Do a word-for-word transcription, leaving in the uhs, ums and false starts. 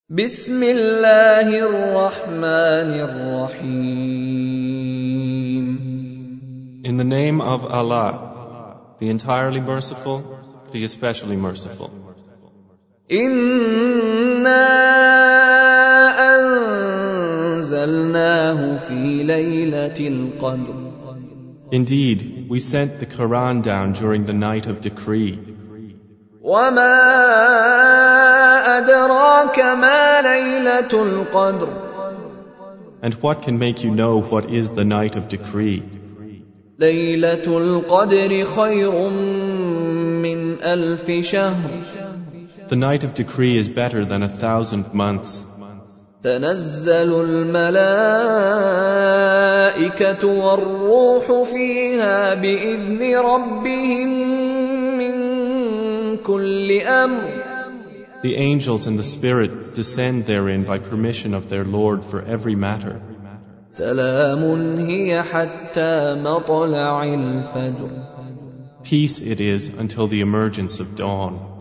بسم الله الرحمن الرحيم. In the name of Allah, the entirely merciful, the especially merciful. إِنَّا أَنزَلْنَاهُ فِي لَيْلَةِ الْقَدْرِ. Indeed, we sent the Quran down during the night of decree. وَمَا أَدْرَاكَ مَا لَيْلَةُ الْقَدْرِ. And what can make you know what is the night of decree? لَيْلَةُ الْقَدْرِ خَيْرٌ مِّنْ أَلْفِ شَهْرٍ. The night of decree is better than a thousand months. تَنَزَّلُ الْمَلَائِكَةُ وَالرُّوحُ فِيهَا بِإِذْنِ رَبِّهِمْ مِنْ كُلِّ أَمْرٍ. The angels and the Spirit descend therein by permission of their Lord for every matter. سَلَامٌ هِيَ حَتَّى مَطْلَعِ الْفَجْرِ. Peace it is until the emergence of dawn.